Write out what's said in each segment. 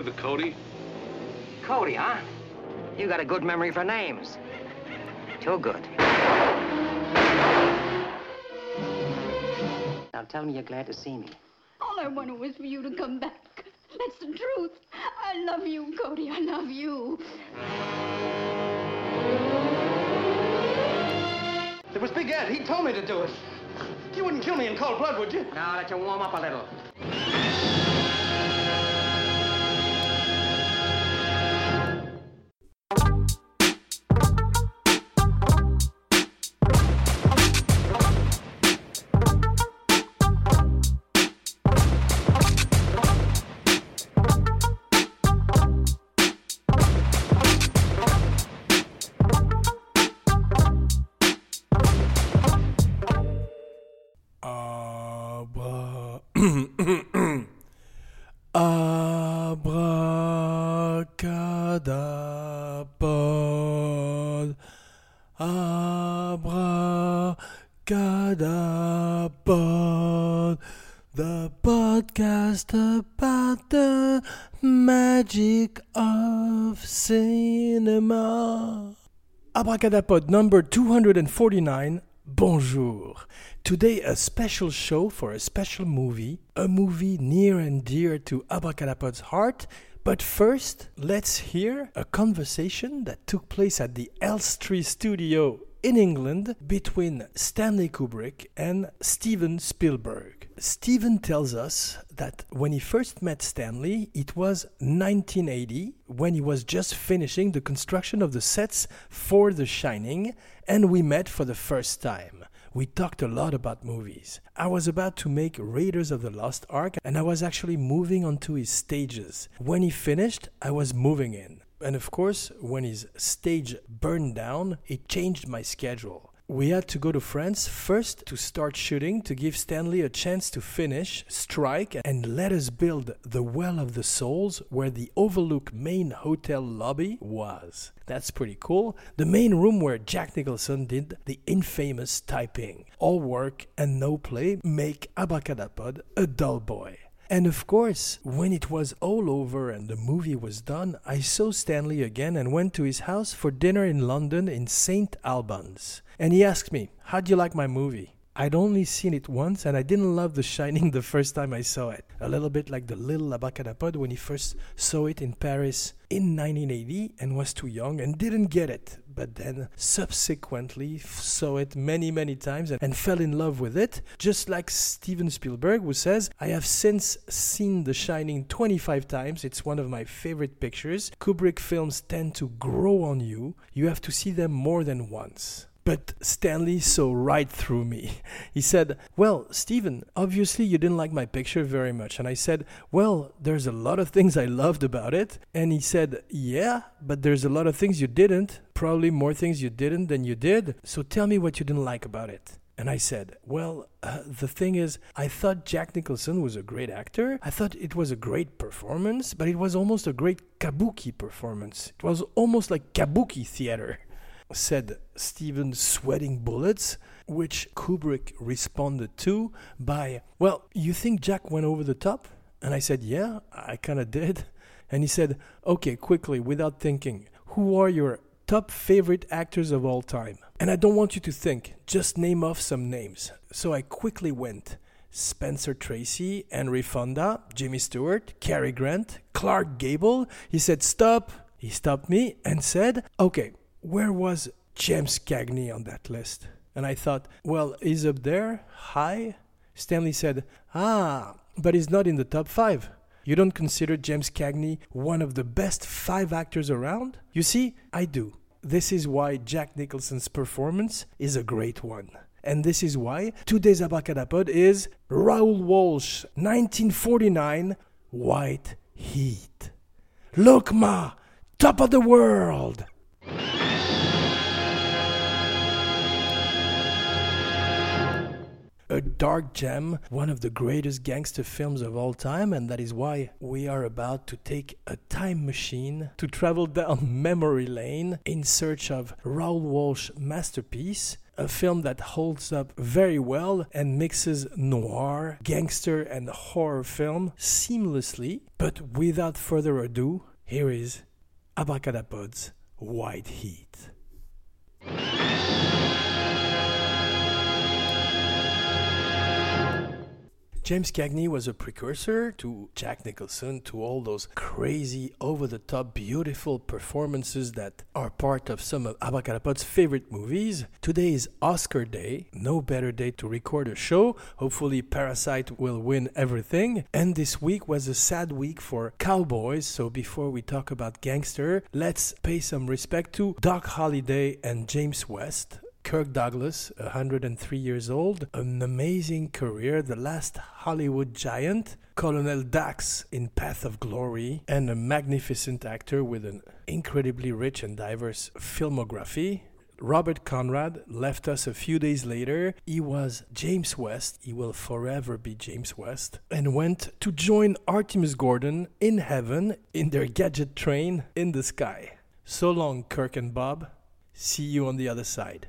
with it, Cody. Cody, huh? You got a good memory for names. Too good. Now tell me you're glad to see me. All I wanted was for you to come back. That's the truth. I love you, Cody. I love you. It was Big Ed. He told me to do it. You wouldn't kill me in cold blood, would you? Now let you warm up a little. Abracadabra, abracadabra, the podcast about the magic of cinema. Abracadapod number 249. Bonjour. Today a special show for a special movie, a movie near and dear to Abracadapod's heart. But first, let's hear a conversation that took place at the Elstree studio in England between Stanley Kubrick and Steven Spielberg. Steven tells us that when he first met Stanley, it was 1980, when he was just finishing the construction of the sets for The Shining, and we met for the first time. We talked a lot about movies. I was about to make Raiders of the Lost Ark, and I was actually moving onto his stages. When he finished, I was moving in. And of course, when his stage burned down, it changed my schedule. We had to go to France first to start shooting to give Stanley a chance to finish, strike, and let us build the Well of the Souls where the Overlook main hotel lobby was. That's pretty cool. The main room where Jack Nicholson did the infamous typing. All work and no play make Abracadapod a dull boy. And of course, when it was all over and the movie was done, I saw Stanley again and went to his house for dinner in London in St. Albans. And he asked me, "How do you like my movie?" I'd only seen it once and I didn't love The Shining the first time I saw it. A little bit like the little Abracadapod when he first saw it in Paris in 1980 and was too young and didn't get it. But then subsequently saw it many times and fell in love with it. Just like Steven Spielberg, who says, "I have since seen The Shining 25 times. It's one of my favorite pictures. Kubrick films tend to grow on you. You have to see them more than once." But Stanley saw right through me. He said, "Well, Steven, obviously you didn't like my picture very much." And I said, "Well, there's a lot of things I loved about it." And he said, "Yeah, but there's a lot of things you didn't. Probably more things you didn't than you did. So tell me what you didn't like about it." And I said, "Well, the thing is, I thought Jack Nicholson was a great actor. I thought it was a great performance, but it was almost a great kabuki performance. It was almost like kabuki theater," said Steven, sweating bullets, which Kubrick responded to by, "Well, you think Jack went over the top?" And I said, "Yeah, I kind of did." And he said, "Okay, quickly, without thinking, who are your top favorite actors of all time?" And I don't want you to think, just name off some names. So I quickly went. Spencer Tracy, Henry Fonda, Jimmy Stewart, Cary Grant, Clark Gable. He said, "Stop." He stopped me and said, "Okay, where was James Cagney on that list?" And I thought, well, he's up there, high. Stanley said, but he's not in the top 5. You don't consider James Cagney one of the best 5 actors around? You see, I do. This is why Jack Nicholson's performance is a great one. And this is why today's Abracadapod is Raoul Walsh, 1949, White Heat. Look, Ma, top of the world! A dark gem, one of the greatest gangster films of all time, and that is why we are about to take a time machine to travel down memory lane in search of Raoul Walsh's masterpiece, A film that holds up very well and mixes noir, gangster, and horror film seamlessly. But without further ado, here is Abracadapod's White Heat. James Cagney was a precursor to Jack Nicholson, to all those crazy, over-the-top, beautiful performances that are part of some of Abracadapod's favorite movies. Today is Oscar Day, no better day to record a show. Hopefully Parasite will win everything. And this week was a sad week for cowboys, so before we talk about gangster, let's pay some respect to Doc Holliday and James West. Kirk Douglas, 103 years old, an amazing career, the last Hollywood giant, Colonel Dax in Path of Glory, and a magnificent actor with an incredibly rich and diverse filmography. Robert Conrad left us a few days later. He was James West, he will forever be James West, and went to join Artemis Gordon in heaven in their gadget train in the sky. So long, Kirk and Bob. See you on the other side.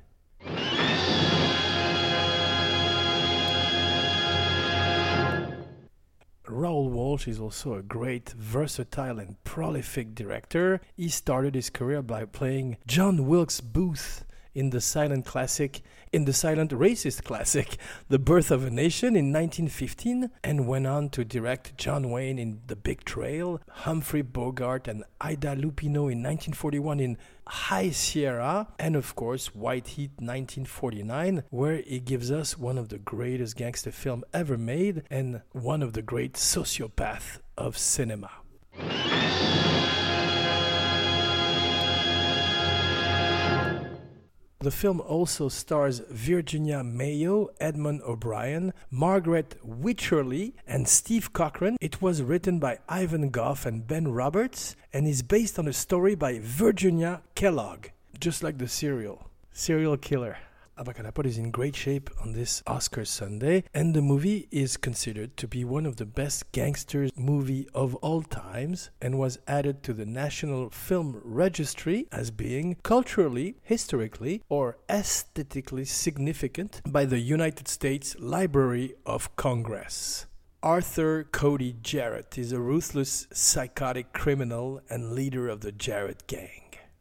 Raoul Walsh is also a great, versatile and prolific director. He started his career by playing John Wilkes Booth in the silent racist classic, The Birth of a Nation in 1915, and went on to direct John Wayne in The Big Trail, Humphrey Bogart and Ida Lupino in 1941 in High Sierra, and of course White Heat 1949, where he gives us one of the greatest gangster films ever made and one of the great sociopaths of cinema. The film also stars Virginia Mayo, Edmund O'Brien, Margaret Wycherley, and Steve Cochran. It was written by Ivan Goff and Ben Roberts and is based on a story by Virginia Kellogg, just like the serial killer. Abracadapod is in great shape on this Oscar Sunday, and the movie is considered to be one of the best gangster movies of all times and was added to the National Film Registry as being culturally, historically, or aesthetically significant by the United States Library of Congress. Arthur Cody Jarrett is a ruthless, psychotic criminal and leader of the Jarrett gang.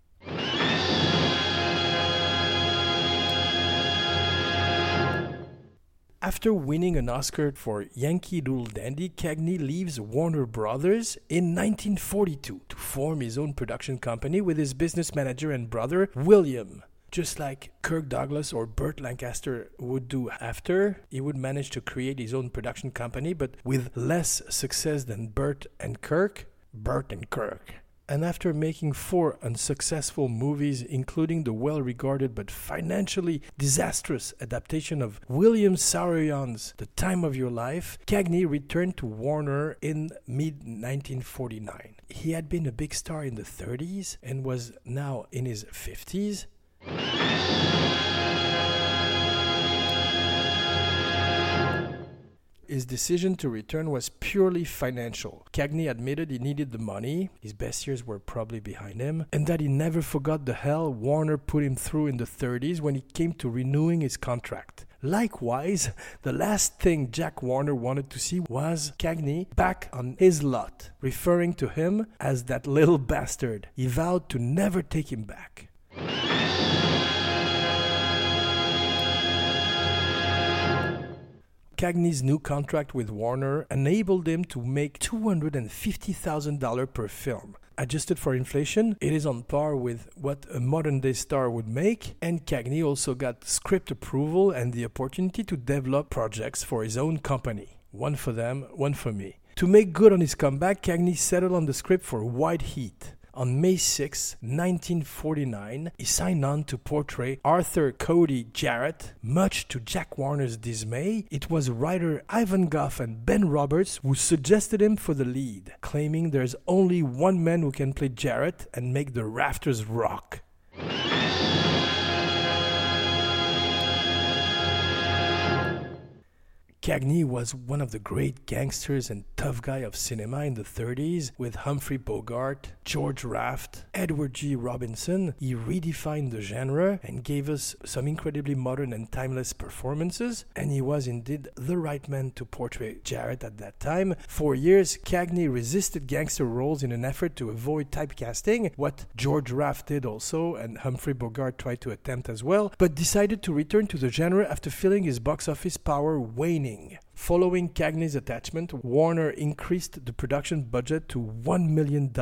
After winning an Oscar for Yankee Doodle Dandy, Cagney leaves Warner Brothers in 1942 to form his own production company with his business manager and brother, William. Just like Kirk Douglas or Burt Lancaster would do after, he would manage to create his own production company, but with less success than Burt and Kirk. And after making 4 unsuccessful movies, including the well-regarded but financially disastrous adaptation of William Saroyan's The Time of Your Life, Cagney returned to Warner in mid-1949. He had been a big star in the 30s and was now in his 50s. His decision to return was purely financial. Cagney admitted he needed the money, his best years were probably behind him, and that he never forgot the hell Warner put him through in the 30s when it came to renewing his contract. Likewise, the last thing Jack Warner wanted to see was Cagney back on his lot, referring to him as that little bastard. He vowed to never take him back. Cagney's new contract with Warner enabled him to make $250,000 per film. Adjusted for inflation, it is on par with what a modern-day star would make, and Cagney also got script approval and the opportunity to develop projects for his own company. One for them, one for me. To make good on his comeback, Cagney settled on the script for White Heat. On May 6, 1949, he signed on to portray Arthur Cody Jarrett. Much to Jack Warner's dismay, it was writer Ivan Goff and Ben Roberts who suggested him for the lead, claiming there's only one man who can play Jarrett and make the rafters rock. Cagney was one of the great gangsters and tough guy of cinema in the 30s with Humphrey Bogart, George Raft, Edward G. Robinson. He redefined the genre and gave us some incredibly modern and timeless performances, and he was indeed the right man to portray Jarrett at that time. For years, Cagney resisted gangster roles in an effort to avoid typecasting, what George Raft did also, and Humphrey Bogart tried to attempt as well, but decided to return to the genre after feeling his box office power waning. Following Cagney's attachment, Warner increased the production budget to $1 million.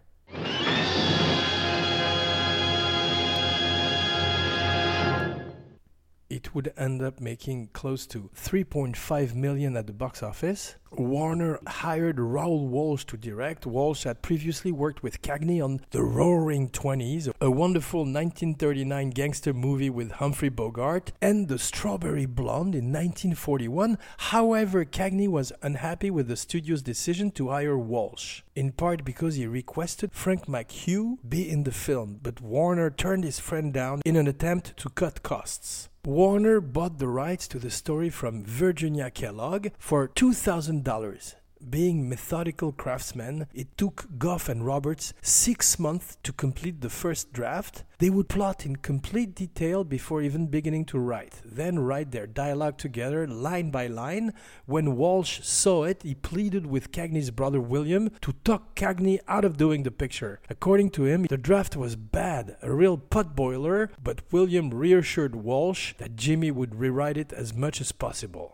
It would end up making close to $3.5 million at the box office. Warner hired Raoul Walsh to direct. Walsh had previously worked with Cagney on The Roaring Twenties, a wonderful 1939 gangster movie with Humphrey Bogart, and The Strawberry Blonde in 1941. However, Cagney was unhappy with the studio's decision to hire Walsh, in part because he requested Frank McHugh be in the film, but Warner turned his friend down in an attempt to cut costs. Warner bought the rights to the story from Virginia Kellogg for $2,000. Being methodical craftsmen, it took Gough and Roberts 6 months to complete the first draft. They would plot in complete detail before even beginning to write, then write their dialogue together line by line. When Walsh saw it, he pleaded with Cagney's brother William to talk Cagney out of doing the picture. According to him, the draft was bad, a real potboiler, but William reassured Walsh that Jimmy would rewrite it as much as possible.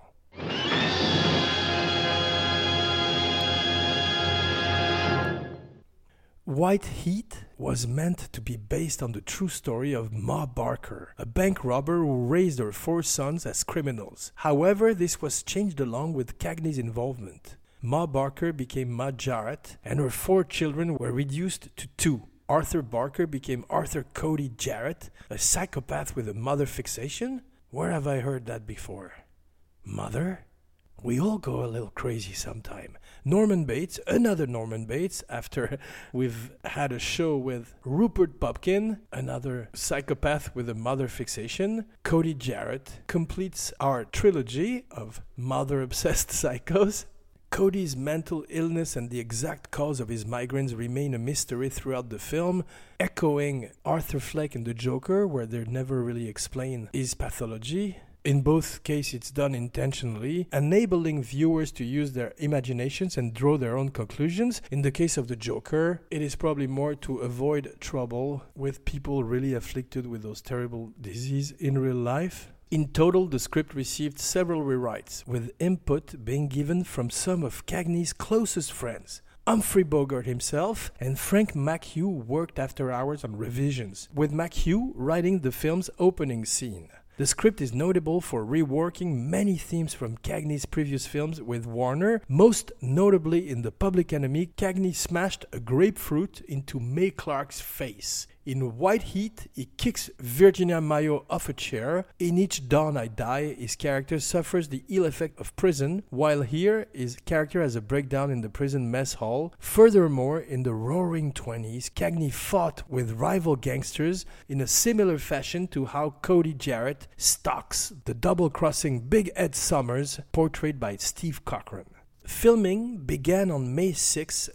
White Heat was meant to be based on the true story of Ma Barker, a bank robber who raised her 4 sons as criminals. However, this was changed along with Cagney's involvement. Ma Barker became Ma Jarrett, and her 4 children were reduced to 2. Arthur Barker became Arthur Cody Jarrett, a psychopath with a mother fixation. Where have I heard that before? Mother? We all go a little crazy sometime. Norman Bates, another Norman Bates, after we've had a show with Rupert Pupkin, another psychopath with a mother fixation. Cody Jarrett completes our trilogy of mother-obsessed psychos. Cody's mental illness and the exact cause of his migraines remain a mystery throughout the film, echoing Arthur Fleck in The Joker, where they never really explain his pathology. In both cases, it's done intentionally, enabling viewers to use their imaginations and draw their own conclusions. In the case of the Joker, it is probably more to avoid trouble with people really afflicted with those terrible diseases in real life. In total, the script received several rewrites, with input being given from some of Cagney's closest friends. Humphrey Bogart himself and Frank McHugh worked after hours on revisions, with McHugh writing the film's opening scene. The script is notable for reworking many themes from Cagney's previous films with Warner. Most notably in The Public Enemy, Cagney smashed a grapefruit into Mae Clarke's face. In White Heat, he kicks Virginia Mayo off a chair. In Each Dawn I Die, his character suffers the ill effect of prison, while here, his character has a breakdown in the prison mess hall. Furthermore, in The Roaring Twenties, Cagney fought with rival gangsters in a similar fashion to how Cody Jarrett stalks the double-crossing Big Ed Summers, portrayed by Steve Cochran. Filming began on May 6,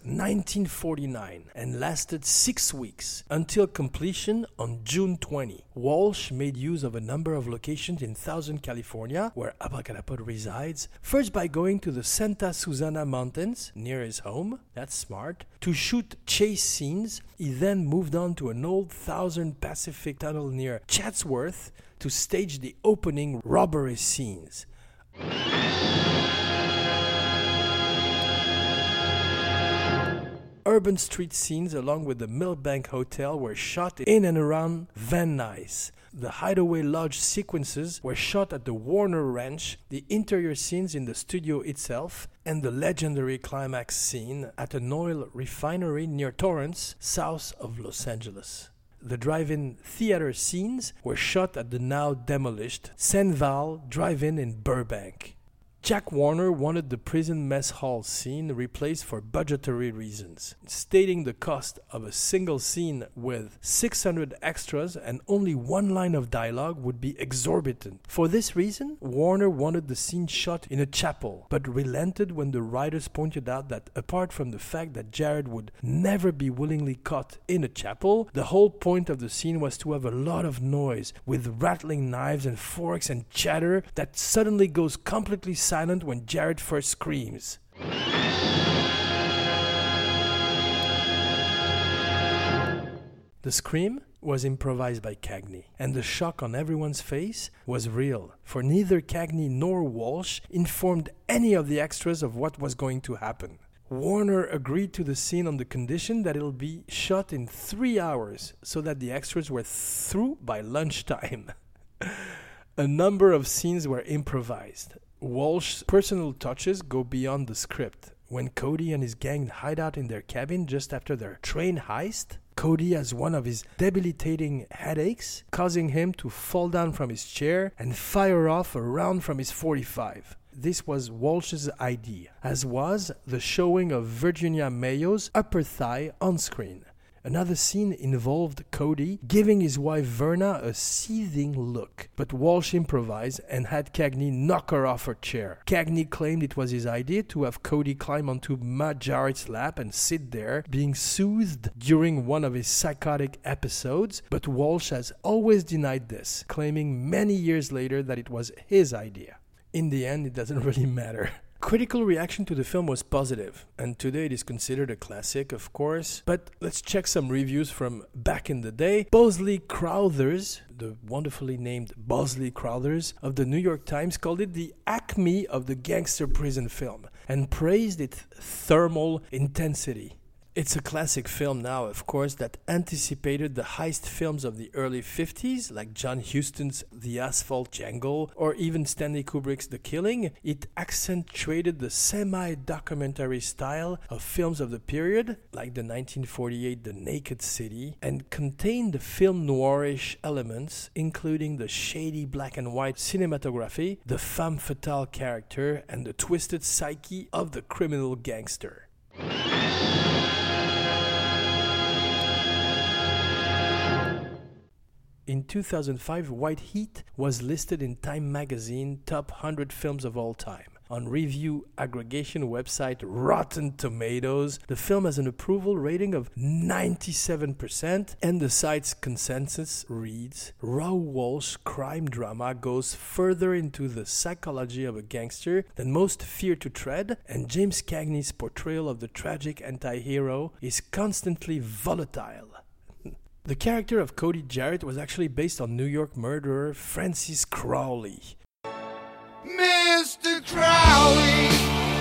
1949 and lasted 6 weeks until completion on June 20. Walsh made use of a number of locations in Thousand, California, where Abracadapod resides, first by going to the Santa Susana Mountains near his home, that's smart, to shoot chase scenes. He then moved on to an old Thousand Pacific tunnel near Chatsworth to stage the opening robbery scenes. Urban street scenes along with the Millbank Hotel were shot in and around Van Nuys. The Hideaway Lodge sequences were shot at the Warner Ranch, the interior scenes in the studio itself, and the legendary climax scene at an oil refinery near Torrance, south of Los Angeles. The drive-in theater scenes were shot at the now demolished Senval Drive-In in Burbank. Jack Warner wanted the prison mess hall scene replaced for budgetary reasons, stating the cost of a single scene with 600 extras and only one line of dialogue would be exorbitant. For this reason, Warner wanted the scene shot in a chapel, but relented when the writers pointed out that apart from the fact that Jared would never be willingly caught in a chapel, the whole point of the scene was to have a lot of noise, with rattling knives and forks and chatter that suddenly goes completely silent when Jared first screams. The scream was improvised by Cagney, and the shock on everyone's face was real, for neither Cagney nor Walsh informed any of the extras of what was going to happen. Warner agreed to the scene on the condition that it'll be shot in 3 hours, so that the extras were through by lunchtime. A number of scenes were improvised. Walsh's personal touches go beyond the script. When Cody and his gang hide out in their cabin just after their train heist, Cody has one of his debilitating headaches, causing him to fall down from his chair and fire off a round from his .45. This was Walsh's idea, as was the showing of Virginia Mayo's upper thigh on screen. Another scene involved Cody giving his wife Verna a seething look, but Walsh improvised and had Cagney knock her off her chair. Cagney claimed it was his idea to have Cody climb onto Ma Jarrett's lap and sit there, being soothed during one of his psychotic episodes, but Walsh has always denied this, claiming many years later that it was his idea. In the end, it doesn't really matter. Critical reaction to the film was positive, and today it is considered a classic, of course. But let's check some reviews from back in the day. Bosley Crowthers, the wonderfully named Bosley Crowthers of the New York Times, called it the acme of the gangster prison film and praised its thermal intensity. It's a classic film now, of course, that anticipated the heist films of the early 50s, like John Huston's The Asphalt Jungle, or even Stanley Kubrick's The Killing. It accentuated the semi-documentary style of films of the period, like the 1948 The Naked City, and contained the film noirish elements, including the shady black and white cinematography, the femme fatale character, and the twisted psyche of the criminal gangster. In 2005, White Heat was listed in Time magazine Top 100 Films of All Time. On review aggregation website Rotten Tomatoes, the film has an approval rating of 97%, and the site's consensus reads, Raoul Walsh's crime drama goes further into the psychology of a gangster than most fear to tread, and James Cagney's portrayal of the tragic anti-hero is constantly volatile. The character of Cody Jarrett was actually based on New York murderer Francis Crowley. Mr. Crowley,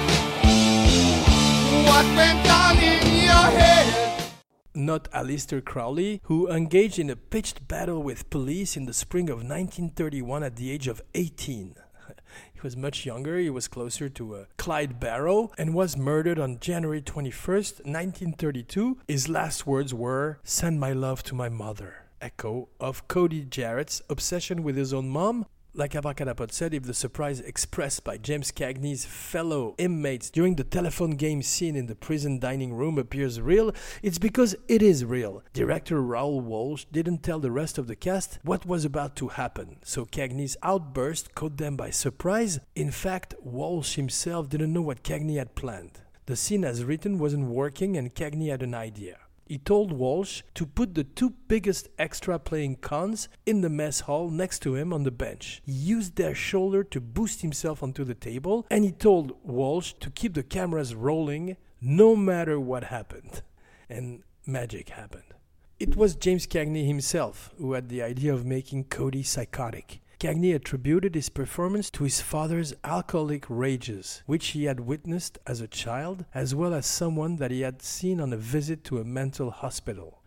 what went on in your head? Not Aleister Crowley, who engaged in a pitched battle with police in the spring of 1931 at the age of 18. He was much younger, he was closer to Clyde Barrow, and was murdered on January 21st, 1932. His last words were, "Send my love to my mother." Echo of Cody Jarrett's obsession with his own mom. Like Abracadapod said, if the surprise expressed by James Cagney's fellow inmates during the telephone game scene in the prison dining room appears real, it's because it is real. Director Raoul Walsh didn't tell the rest of the cast what was about to happen, so Cagney's outburst caught them by surprise. In fact, Walsh himself didn't know what Cagney had planned. The scene as written wasn't working and Cagney had an idea. He told Walsh to put the two biggest extra playing cons in the mess hall next to him on the bench. He used their shoulder to boost himself onto the table, and he told Walsh to keep the cameras rolling no matter what happened. And magic happened. It was James Cagney himself who had the idea of making Cody psychotic. Cagney attributed his performance to his father's alcoholic rages, which he had witnessed as a child, as well as someone that he had seen on a visit to a mental hospital.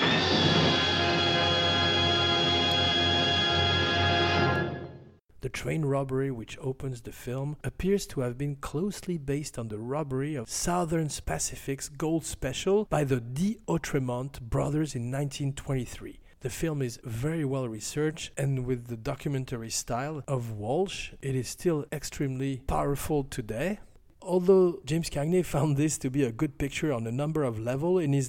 The train robbery which opens the film appears to have been closely based on the robbery of Southern Pacific's Gold Special by the d'Outremont brothers in 1923. The film is very well researched, and with the documentary style of Walsh, it is still extremely powerful today. Although James Cagney found this to be a good picture on a number of levels, in his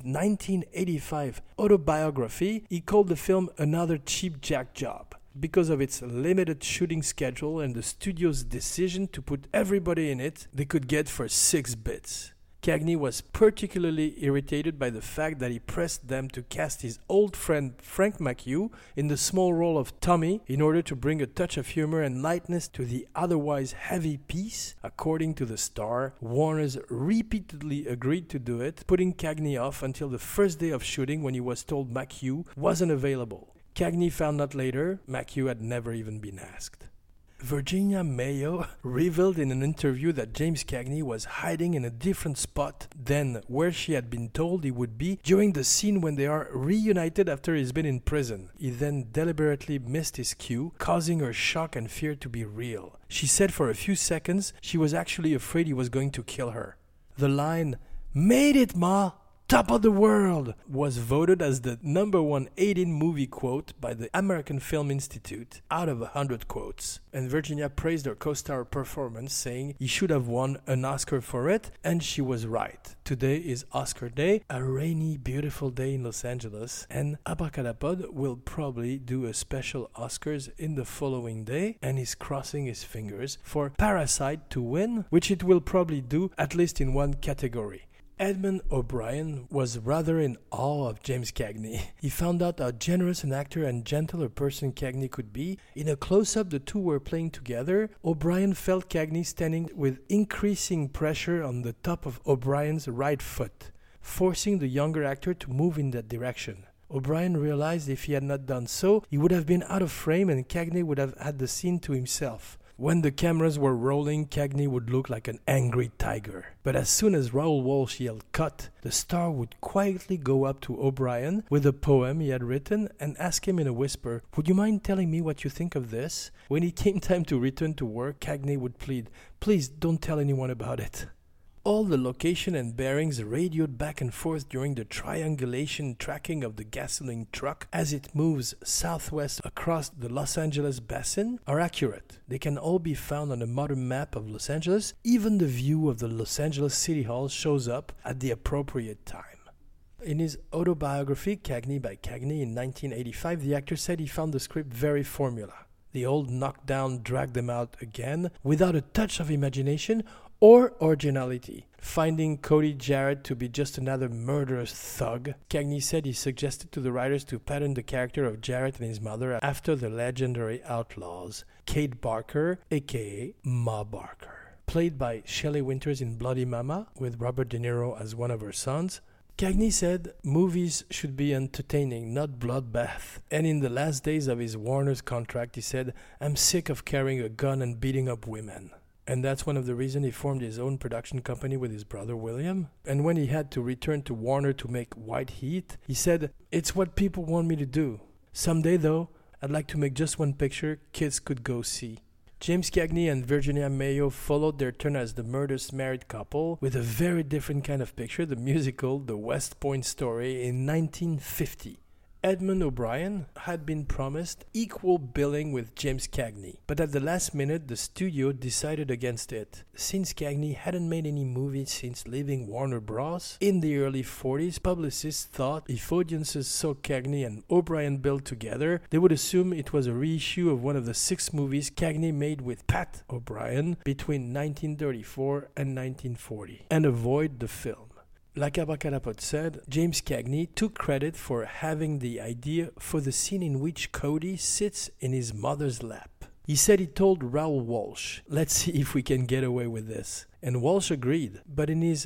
1985 autobiography, he called the film another cheap jack job because of its limited shooting schedule and the studio's decision to put everybody in it they could get for 6 bits. Cagney was particularly irritated by the fact that he pressed them to cast his old friend Frank McHugh in the small role of Tommy in order to bring a touch of humor and lightness to the otherwise heavy piece. According to the Star, Warner's repeatedly agreed to do it, putting Cagney off until the first day of shooting when he was told McHugh wasn't available. Cagney found out later McHugh had never even been asked. Virginia Mayo revealed in an interview that James Cagney was hiding in a different spot than where she had been told he would be during the scene when they are reunited after he's been in prison. He then deliberately missed his cue, causing her shock and fear to be real. She said for a few seconds she was actually afraid he was going to kill her. The line, "Made it, Ma! Top of the world," was voted as the #1 18 movie quote by the American Film Institute out of 100 quotes. And Virginia praised her co-star performance, saying he should have won an Oscar for it, and she was right. Today is Oscar Day, a rainy, beautiful day in Los Angeles, and Abracadapod will probably do a special Oscars in the following day, and is crossing his fingers for Parasite to win, which it will probably do at least in one category. Edmund O'Brien was rather in awe of James Cagney. He found out how generous an actor and gentle a person Cagney could be. In a close-up the two were playing together, O'Brien felt Cagney standing with increasing pressure on the top of O'Brien's right foot, forcing the younger actor to move in that direction. O'Brien realized if he had not done so, he would have been out of frame and Cagney would have had the scene to himself. When the cameras were rolling, Cagney would look like an angry tiger. But as soon as Raoul Walsh yelled cut, the star would quietly go up to O'Brien with a poem he had written and ask him in a whisper, "Would you mind telling me what you think of this?" When it came time to return to work, Cagney would plead, "Please don't tell anyone about it." All the location and bearings radioed back and forth during the triangulation tracking of the gasoline truck as it moves southwest across the Los Angeles basin are accurate. They can all be found on a modern map of Los Angeles. Even the view of the Los Angeles City Hall shows up at the appropriate time. In his autobiography, Cagney by Cagney, in 1985, the actor said he found the script very formula. The old knockdown dragged them out again without a touch of imagination or originality. Finding Cody Jarrett to be just another murderous thug, Cagney said he suggested to the writers to pattern the character of Jarrett and his mother after the legendary outlaws, Kate Barker, aka Ma Barker. Played by Shelley Winters in Bloody Mama, with Robert De Niro as one of her sons, Cagney said movies should be entertaining, not bloodbath. And in the last days of his Warner's contract, he said, "I'm sick of carrying a gun and beating up women." And that's one of the reasons he formed his own production company with his brother William. And when he had to return to Warner to make White Heat, he said, "It's what people want me to do. Someday, though, I'd like to make just one picture kids could go see." James Cagney and Virginia Mayo followed their turn as the murderous married couple with a very different kind of picture, the musical The West Point Story in 1950. Edmund O'Brien had been promised equal billing with James Cagney, but at the last minute the studio decided against it. Since Cagney hadn't made any movies since leaving Warner Bros. In the early 40s, publicists thought if audiences saw Cagney and O'Brien billed together, they would assume it was a reissue of one of the 6 movies Cagney made with Pat O'Brien between 1934 and 1940, and avoid the film. Like Abracadapod said, James Cagney took credit for having the idea for the scene in which Cody sits in his mother's lap. He said he told Raoul Walsh, "Let's see if we can get away with this." And Walsh agreed, but in his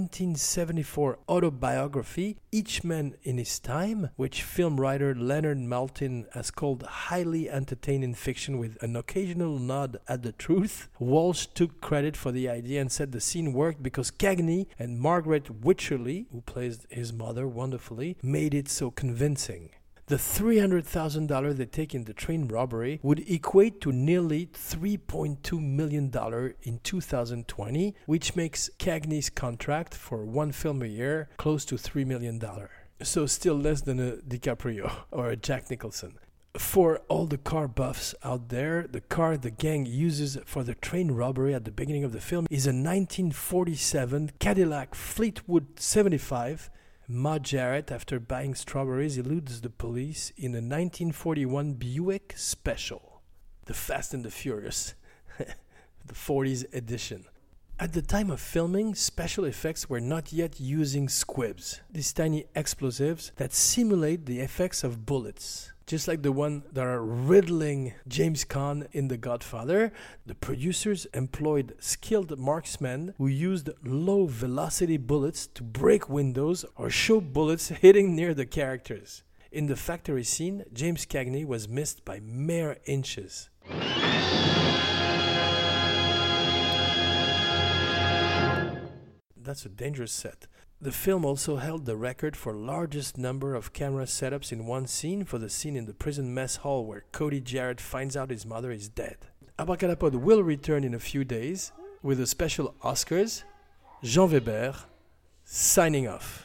1974 autobiography, Each Man in His Time, which film writer Leonard Maltin has called highly entertaining fiction with an occasional nod at the truth, Walsh took credit for the idea and said the scene worked because Cagney and Margaret Wycherley, who plays his mother wonderfully, made it so convincing. The $300,000 they take in the train robbery would equate to nearly $3.2 million in 2020, which makes Cagney's contract for one film a year close to $3 million. So still less than a DiCaprio or a Jack Nicholson. For all the car buffs out there, the car the gang uses for the train robbery at the beginning of the film is a 1947 Cadillac Fleetwood 75. Ma Jarrett, after buying strawberries, eludes the police in a 1941 Buick Special. The Fast and the Furious, the 40s edition. At the time of filming, special effects were not yet using squibs, these tiny explosives that simulate the effects of bullets. Just like the one that are riddling James Caan in The Godfather, the producers employed skilled marksmen who used low-velocity bullets to break windows or show bullets hitting near the characters. In the factory scene, James Cagney was missed by mere inches. That's a dangerous set. The film also held the record for largest number of camera setups in one scene for the scene in the prison mess hall where Cody Jarrett finds out his mother is dead. Abracadapod will return in a few days with a special Oscars. Jean Weber, signing off.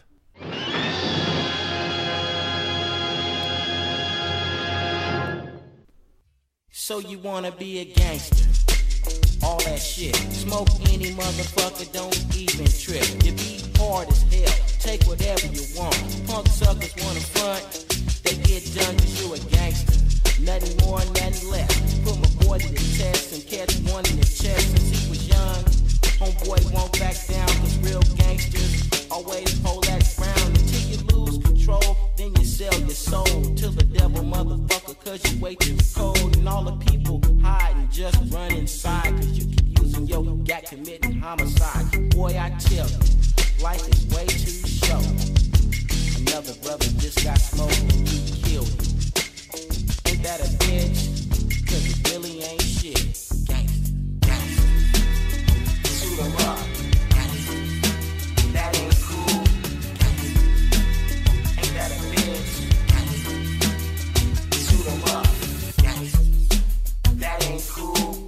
So you wanna be a gangster? All that shit. Smoke any motherfucker, don't even trip. You be hard as hell, take whatever you want. Punk suckers wanna front, they get done cause you a gangster. Nothing more, nothing less. Put my boy to the test and catch one in the chest since he was young. Homeboy won't back down cause real gangsters always hold that ground. Until you lose control, then you sell your soul to the devil, motherfucker, cause you way too cold. And all the people hiding just run inside cause you keep using your gat committing homicide. Boy, I tell you, life is way too short. Another brother just got smoked and you killed him. Ain't that a bitch? Cause it really ain't shit. Gangsta, gangsta. Shoot 'em up. Gangsta. That ain't cool. Gangsta. Ain't that a bitch? Gangsta. Shoot 'em up. Gangsta. That ain't cool.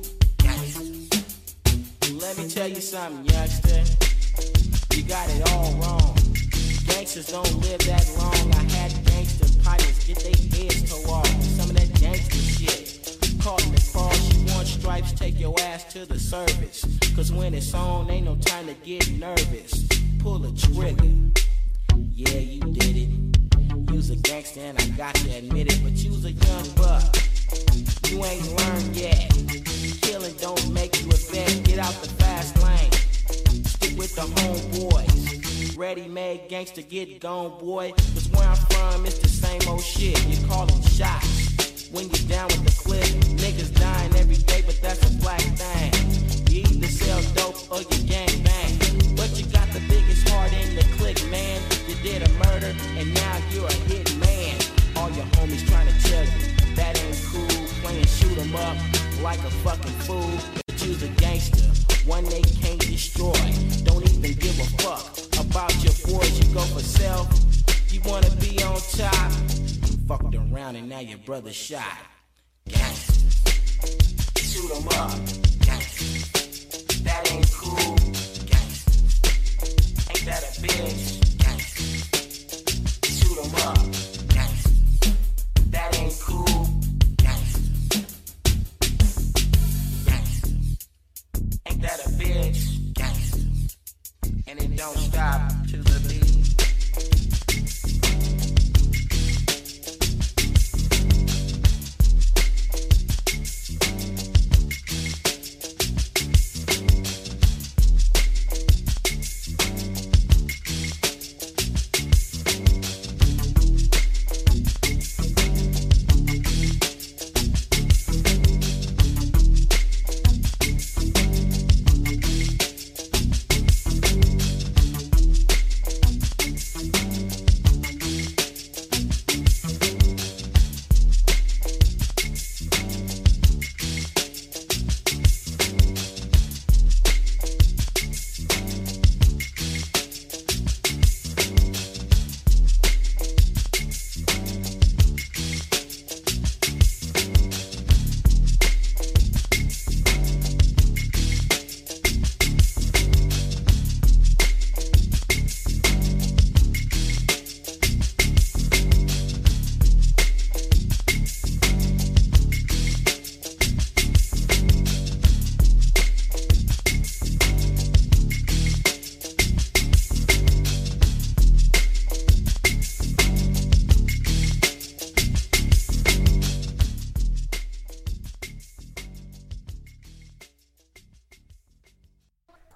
Gangsta. Let me tell you something, youngster. You got it all wrong. Gangsters don't live that long. I had gangster pilots get their heads tore off. Some of that gangster shit. Caught in the cross, you want stripes, take your ass to the service. Cause when it's on, ain't no time to get nervous. Pull a trigger. Yeah, you did it. You's a gangster and I got to admit it. But you's a young buck. You ain't learned yet. Killing don't make you a vet. Get out the fast lane. Stick with the homeboys. Ready-made gangster, get gone, boy. Cause where I'm from, it's the same old shit. You call them shots. When you're down with the clip, niggas dying every day, but that's a black thing. You either sell dope or you gang bang. But you got the biggest heart in the clique, man. You did a murder, and now you're a hit man. All your homies trying to tell you, that ain't cool. Playing shoot 'em up like a fucking fool. But you's a gangster, one they can't destroy. Don't even give a fuck about your boys, you go for self. You wanna be on top. Fucked around and now your brother shot. Gangsta. Shoot 'em up. Gangsta. That ain't cool. Gangsta. Ain't that a bitch?